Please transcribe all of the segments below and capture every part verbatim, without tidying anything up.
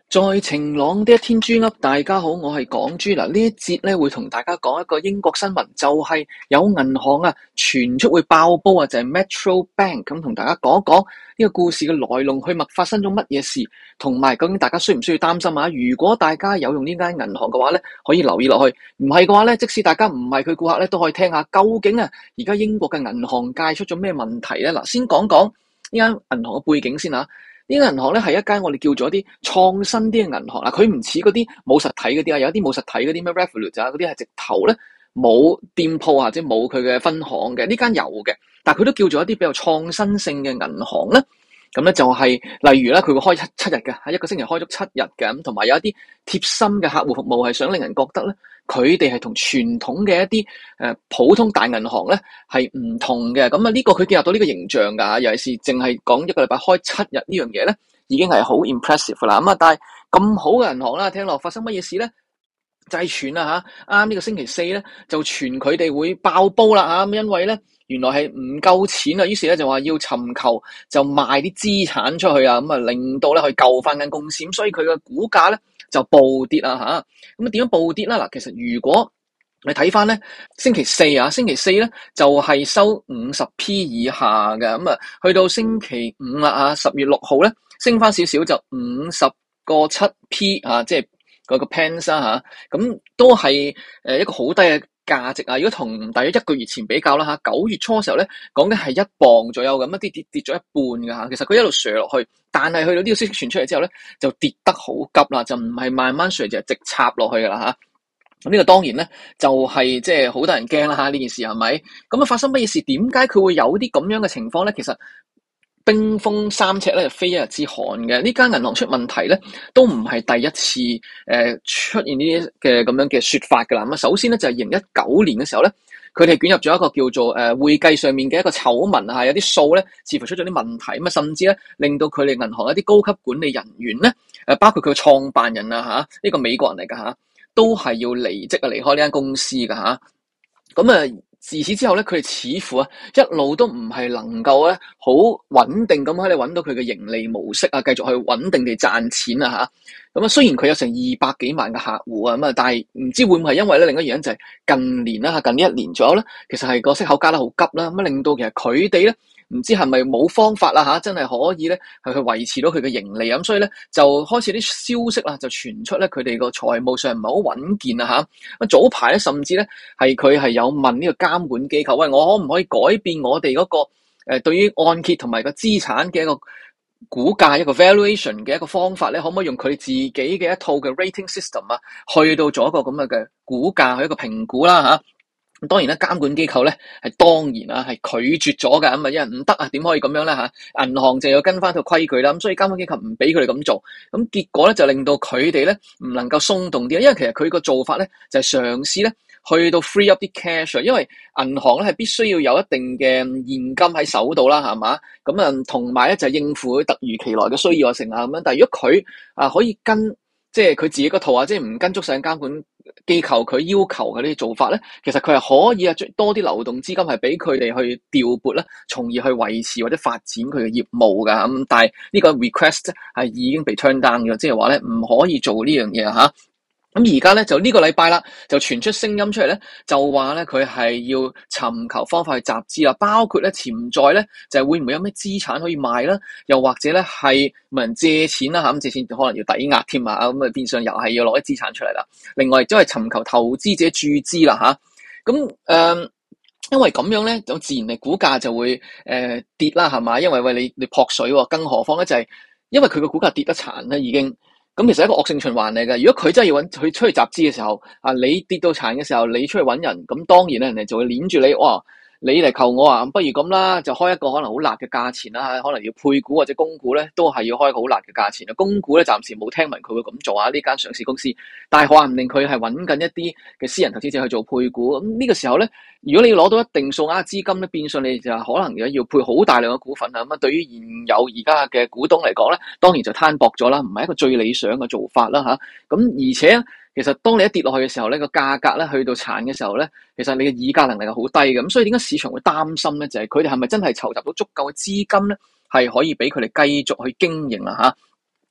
在晴朗的一天，豬噏，大家好，我係港豬。嗱，呢一節咧會同大家講一個英國新聞，就係、是、有銀行啊傳出會爆煲啊，就係、是、Metro Bank。咁同大家講一講呢個故事嘅來龍去脈，發生咗乜嘢事，同埋究竟大家需唔需要擔心啊？如果大家有用呢間銀行嘅話咧，可以留意落去；唔係嘅話咧，即使大家唔係佢顧客咧，都可以聽下究竟啊而家英國嘅銀行界出咗咩問題咧？嗱，先講講呢間銀行嘅背景先啊。呢間銀行咧係一間我哋叫做一啲創新啲嘅銀行啦，佢唔似嗰啲冇實體嗰啲啊，有一啲冇實體嗰啲咩 Revolut 啊嗰啲係直頭咧冇店鋪或者冇佢嘅分行嘅，呢間有嘅，但係佢都叫做一啲比較創新性嘅銀行咧。咁咧就係、是、例如咧，佢會開七七日嘅，喺一個星期開足七日嘅，咁同埋有一啲貼心嘅客戶服務，係想令人覺得咧，佢哋係同傳統嘅一啲誒、呃、普通大銀行咧係唔同嘅。咁啊呢個佢建立到呢個形象㗎，尤其是淨係講一個禮拜開七日呢樣嘢咧，已經係好 impressive 啦。咁啊，但係咁好嘅銀行啦，聽落發生乜嘢事咧？就係傳啊嚇，啱呢個星期四咧就傳佢哋會爆煲啦嚇，因為咧原來係唔夠錢啊，於是咧就話要尋求就賣啲資產出去啊，咁啊令到咧去救翻間公司，咁所以佢嘅股價咧就暴跌啊嚇。咁啊點樣暴跌啦？嗱，其實如果你睇翻咧星期四啊，星期四咧就係收五十 P 以下嘅，咁啊去到星期五啦啊，十月六號咧升翻少少就五十個七 P 啊，即係。嗰個 pence 啊嚇，咁都係誒一個好低嘅價值啊！如果同大約一個月前比較啦嚇，九月初嘅時候咧，講緊係一磅左右咁，一跌跌跌咗一半㗎嚇。其實佢一路瀡落去，但係去到呢個消息傳出嚟之後咧，就跌得好急啦，就唔係慢慢瀡，就係直插落去㗎啦嚇。咁呢個當然咧，就係即係好多人驚啦嚇，呢件事係咪？咁啊發生乜嘢事？點解佢會有啲咁樣嘅情況咧？其實冰封三尺咧，就非一日之寒嘅。呢間銀行出問題咧，都唔係第一次誒、呃、出現呢啲嘅咁樣嘅說法㗎啦。咁啊，首先咧就係二零一九年嘅時候咧，佢哋捲入咗一個叫做誒、呃、會計上面嘅一個醜聞啊，有啲數咧似乎出咗啲問題，咁啊甚至咧令到佢哋銀行一啲高級管理人員咧，誒包括佢嘅創辦人啊嚇，呢、這個美國人嚟㗎嚇，都係要離職啊離開呢間公司㗎嚇。咁啊〜自此之後咧，佢哋似乎啊一路都唔係能夠咧好穩定咁喺度揾到佢嘅盈利模式啊，繼續去穩定地賺錢啊嚇。咁啊，雖然佢有成二百幾萬嘅客戶啊，咁啊，但係唔知會唔會係因為咧另一個原因就係近年啦嚇，近呢一年左右咧，其實係個息口加得好急啦，咁啊令到其實佢哋咧唔知係咪冇方法啦嚇，真係可以咧係去維持到佢嘅盈利咁，所以咧就開始啲消息啦就傳出咧佢哋個財務上唔係好穩健啊嚇。咁早排咧甚至咧係佢係有問呢個監管機構，喂，我可唔可以改變我哋嗰個誒對於按揭同埋個資產嘅一個估價一個 valuation 嘅一個方法咧，可唔可以用佢自己嘅一套嘅 rating system 啊，去到做一個咁嘅嘅估價去一個評估啦嚇。咁當然啦，監管機構咧係當然啊係拒絕咗㗎，咁啊因為唔得啊，點可以咁樣咧嚇？銀行就要跟翻套規矩啦，咁所以監管機構唔俾佢哋咁做，咁結果咧就令到佢哋咧唔能夠鬆動啲，因為其實佢個做法咧就係嘗試咧去到 free up 啲 cash，因為銀行咧係必須要有一定嘅現金喺手度啦，係嘛？咁啊同埋咧就係應付佢突如其來嘅需要啊成啊咁樣，但係如果佢啊可以跟即係佢自己個套啊，即係唔跟足上監管機構佢要求嘅呢啲做法咧，其實佢係可以啊，多啲流動資金係俾佢哋去調撥啦，從而去維持或者發展佢嘅業務噶咁。但係呢個 request 係已經被 turn down 咗，即係話咧唔可以做呢樣嘢吓。咁而家咧就呢個禮拜啦，就傳出聲音出嚟咧，就話咧佢係要尋求方法去集資啦，包括咧潛在咧就係會唔會有咩資產可以賣啦，又或者咧係問人借錢啦嚇，咁借錢可能要抵押添啊，咁啊變相又係要攞啲資產出嚟啦。另外亦都係尋求投資者注資啦嚇，咁誒、呃，因為咁樣咧，就自然嘅股價就會誒、呃、跌啦，係嘛？因為喂你你撲水喎，更何況咧就係、是、因為佢個股價跌得殘咧已經。咁其實係一個惡性循環嚟嘅。如果佢真係要揾佢出去集資嘅時候，啊你跌到殘嘅時候，你出去揾人，咁當然咧人哋就會攆住你，哇！你嚟求我啊，不如咁啦，就開一個可能好辣嘅價錢啦，可能要配股或者供股咧，都係要開一個好辣嘅價錢啊。供股咧暫時冇聽聞佢會咁做啊，呢間上市公司，但係話唔定佢係揾緊一啲嘅私人投資者去做配股。咁呢個時候咧，如果你要攞到一定數額資金咧，變相你就可能要配好大量嘅股份啊。咁啊，對於現有而家嘅股東嚟講咧，當然就攤薄咗啦，唔係一個最理想嘅做法啦吓。咁而且其實當你一跌落去嘅時候咧，個價格咧去到殘嘅時候咧，其實你嘅議價能力係好低嘅。咁所以點解市場會擔心咧？就係佢哋係咪真係籌集到足夠嘅資金咧，係可以俾佢哋繼續去經營啊吓？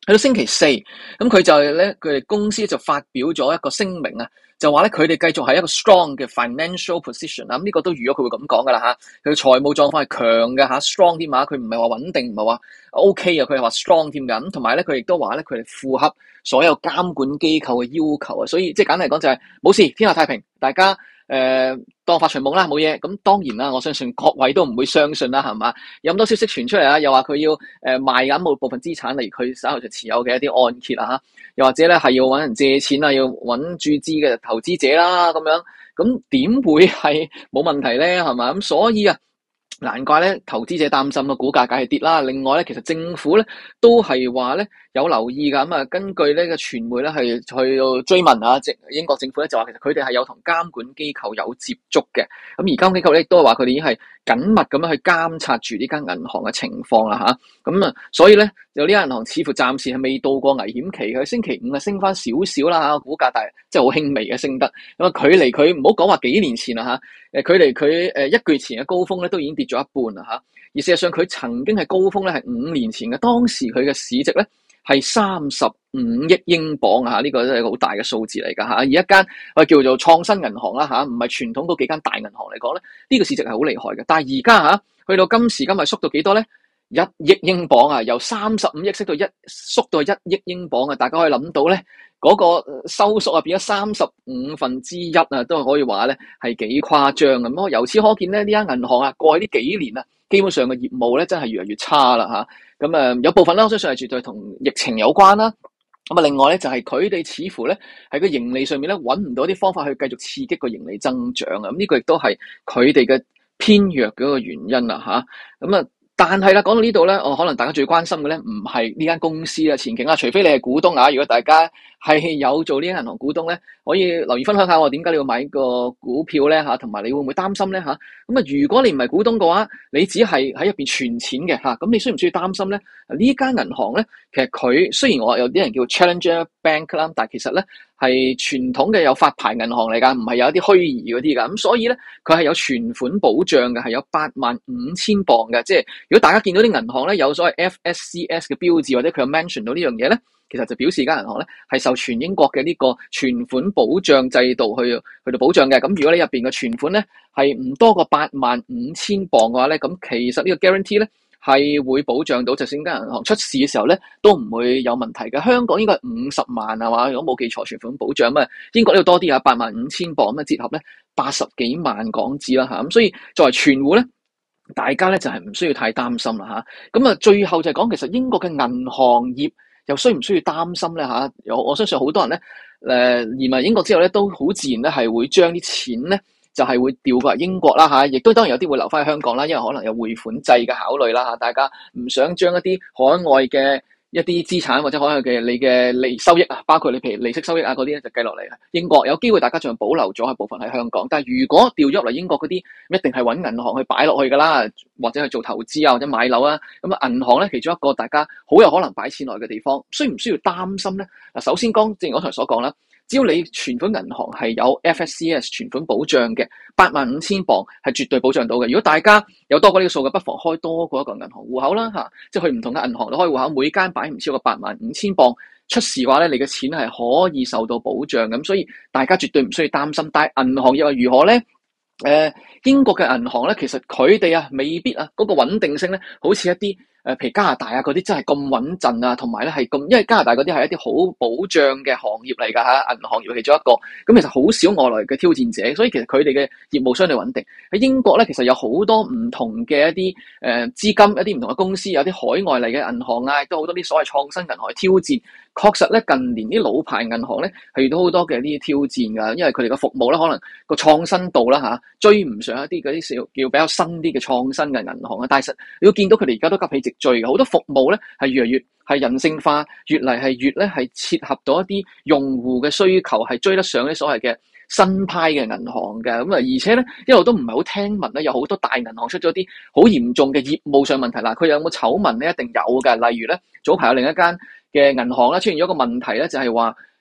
去到星期四，咁佢就咧，佢哋公司就發表咗一個聲明啊，就話咧佢哋繼續係一個 strong 嘅 financial position 啊，咁呢個都預咗佢會咁講噶啦嚇，佢嘅財務狀況係強嘅嚇 strong 添啊，佢唔係話穩定，唔係話 OK 啊，佢係話 strong 添㗎，咁同埋咧佢亦都話咧佢哋符合所有監管機構嘅要求啊，所以即係簡單嚟講就係冇事，天下太平，大家。誒、呃，當發財夢啦，冇嘢。咁當然啦，我相信各位都唔會相信啦，係嘛？有咁多消息傳出嚟啊，又話佢要誒、呃、賣緊某部分資產，例如佢手頭上持有嘅一啲按揭啊，吓，又或者咧係要搵人借錢啊，要搵注資嘅投資者啦，咁樣，咁點會係冇問題咧？係嘛？咁所以啊。難怪咧，投資者擔心個股價梗係跌啦。另外咧，其實政府咧都係話咧有留意㗎。咁啊，根據呢個傳媒咧係去到追問啊，即英國政府咧就話其實佢哋係有同監管機構有接觸嘅。咁而監管機構咧亦都係話佢哋已經係緊密咁樣去監察住呢間銀行嘅情況啦吓。咁啊，所以咧有呢間銀行似乎暫時係未到過危險期嘅。星期五啊升翻少少啦吓，股價但係即係好輕微嘅升得。咁啊，距離佢唔好講話幾年前啦吓，誒距離佢誒一個月前嘅高峰咧都已經跌咗一半啦嚇，而事實上佢曾經係高峰咧係五年前嘅，當時佢嘅市值咧係三十五億英鎊啊，呢個都係一個好大嘅數字嚟㗎嚇。而一間我叫做創新銀行啦嚇，唔係傳統嗰幾間大銀行嚟講咧，呢個市值係好厲害嘅。但係而家嚇去到今時今日縮到幾多咧？一億英鎊啊，由三十五億縮到一縮到一億英鎊啊，大家可以諗到咧。嗰個收縮啊，變咗三十五分之一啊，都可以話咧係幾誇張咁咯。由此可見咧，呢間銀行啊，過去呢幾年啊，基本上嘅業務咧真係越嚟越差啦嚇。咁啊，有部分咧，我相信係絕對同疫情有關啦。咁啊，另外咧就係佢哋似乎咧喺個盈利上面咧揾唔到啲方法去繼續刺激個盈利增長啊。咁呢個亦都係佢哋嘅偏弱嘅一個原因啦嚇。咁啊。但係啦，講到呢度咧，我可能大家最關心嘅咧，唔係呢間公司嘅前景啊，除非你係股東啊。如果大家係有做呢間銀行股東咧，可以留言分享下我點解你要買個股票咧嚇，同埋你會唔會擔心咧嚇？咁啊，如果你唔係股東嘅話，你只係喺入邊存錢嘅嚇，咁你需唔需要擔心咧？呢間銀行咧，其實佢雖然我有啲人叫 Challenger Bank 啦，但係其實咧係傳統嘅有發牌銀行嚟㗎，唔係有一啲虛擬嗰啲㗎。咁所以咧，佢係有存款保障嘅，係有八萬五千鎊嘅。即係如果大家見到啲銀行咧有所謂 F S C S 嘅標誌，或者佢有 mention 到呢樣嘢咧，其實就表示間銀行咧係受全英國嘅呢個存款保障制度去去到保障嘅。咁如果你入邊嘅存款咧係唔多過八萬五千鎊嘅話咧，咁其實呢個 guarantee 咧係會保障到，就算間銀行出事嘅時候咧都唔會有問題嘅。香港應該係五十萬係嘛？如果冇記錯，存款保障啊，英國呢度多啲啊，八萬五千鎊咁啊，折合咧八十幾萬港紙啦嚇。咁所以作為存戶咧，大家咧就係唔需要太擔心啦嚇。咁啊，最後就係講其實英國嘅銀行業又需唔需要擔心咧嚇？我我相信好多人咧誒移民英國之後咧，都好自然咧係會將啲錢咧就係會調過嚟英國啦嚇，亦都當然有啲會留翻去香港啦，因為可能有匯款制嘅考慮啦嚇，大家唔想將一啲海外嘅一啲資產或者海外嘅你嘅利收益啊，包括你譬如利息收益啊嗰啲咧就計落嚟英國，有機會大家仲保留咗一部分喺香港，但係如果調咗落嚟英國嗰啲，一定係揾銀行去擺落去噶啦，或者去做投資啊或者買樓啊，咁啊銀行咧其中一個大家好有可能擺錢落去嘅地方，需唔需要擔心咧？嗱，首先講正如我剛才所講啦。只要你存款銀行係有 F S C S 存款保障嘅，八萬五千鎊係絕對保障到嘅。如果大家有多過呢個數嘅，不妨開多過一個銀行戶口啦嚇，即係去唔同嘅銀行都開戶口，每間擺唔超過八萬五千鎊，出事嘅話咧，你嘅錢係可以受到保障咁，所以大家絕對唔需要擔心。但係銀行又係如何咧？誒、呃，英國嘅銀行咧，其實佢哋啊未必啊嗰、那個穩定性咧，好似一啲。誒，譬如加拿大啊，嗰啲真係咁穩陣啊，同埋咧係咁，因為加拿大嗰啲係一啲好保障嘅行業嚟㗎嚇，銀行業其中一個，咁其實好少外來嘅挑戰者，所以其實佢哋嘅業務相對穩定。喺英國咧，其實有好多唔同嘅一啲誒資金，一啲唔同嘅公司，有啲海外嚟嘅銀行啊，亦都好多啲所謂創新銀行去挑戰。確實咧，近年啲老牌銀行咧係遇到好多嘅呢啲挑戰㗎，因為佢哋嘅服務咧可能個創新度啦嚇追唔上一啲嗰啲小叫比較新啲嘅創新嘅銀行啊。但係實你要見到佢哋而家都急起直追嘅，好多服務咧係越嚟越係人性化，越嚟係越咧係切合到一啲用戶嘅需求，係追得上啲所謂嘅新派嘅銀行嘅。咁啊，而且咧一路都唔係好聽聞咧，有好多大銀行出咗啲好嚴重嘅業務上問題啦。佢有冇醜聞咧？一定有嘅。例如咧，早排有另一間嘅銀行咧出現咗一個問題咧，就係話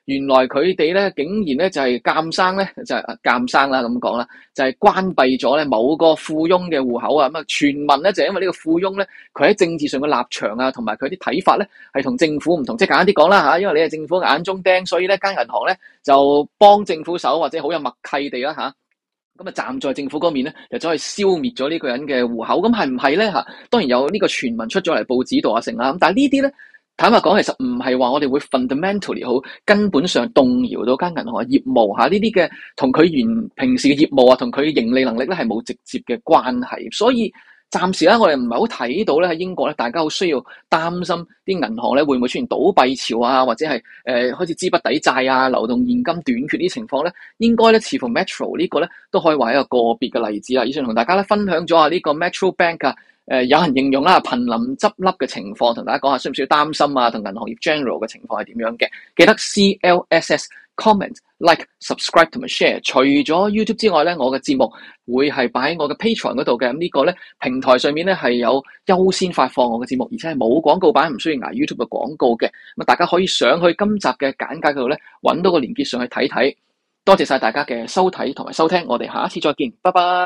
原來佢哋咧竟然咧就係監生咧就係監生啦咁講啦，就係關閉咗咧某個富翁嘅戶口啊。咁啊，傳聞咧就係因為呢個富翁咧佢喺政治上嘅立場啊，同埋佢啲睇法咧係同政府唔同。即係簡單啲講啦嚇，因為你係政府眼中釘，所以咧間銀行咧就幫政府手，或者好有默契地啦嚇。咁啊，站在政府嗰面咧，就走去消滅咗呢個人嘅戶口。咁係唔係咧嚇？當然有呢個傳聞出咗嚟報紙度啊成啦。咁但係呢啲咧，坦白講，其實唔係話我哋會 fundamentally 好根本上動搖到間銀行嘅業務嚇。呢啲嘅同佢原平時嘅業務啊，同佢盈利能力咧係冇直接嘅關係。所以暫時咧，我哋唔係好睇到咧喺英國咧，大家好需要擔心啲銀行咧會唔會出現倒閉潮啊，或者係誒、呃、開始資不抵債啊、流動現金短缺呢啲情況咧，應該咧似乎 Metro 呢個咧都可以話一個個別嘅例子啦。以上同大家咧分享咗啊呢個 Metro Bank 啊，誒、呃、有人形容啦瀕臨執笠嘅情況，同大家講下需唔需要擔心啊，同銀行業 general 嘅情況係點樣嘅？記得 C L S S comment like subscribe 同埋 share。除咗 YouTube 之外咧，我嘅節目會係擺喺我嘅 Patreon 嗰度嘅。咁呢個咧平台上面咧係有優先發放我嘅節目，而且係冇廣告版，唔需要捱 YouTube 嘅廣告嘅。咁啊，大家可以上去今集嘅簡介嗰度咧，揾到個連結上去睇睇。多謝晒大家嘅收睇同埋收聽，我哋下一次再見，拜拜。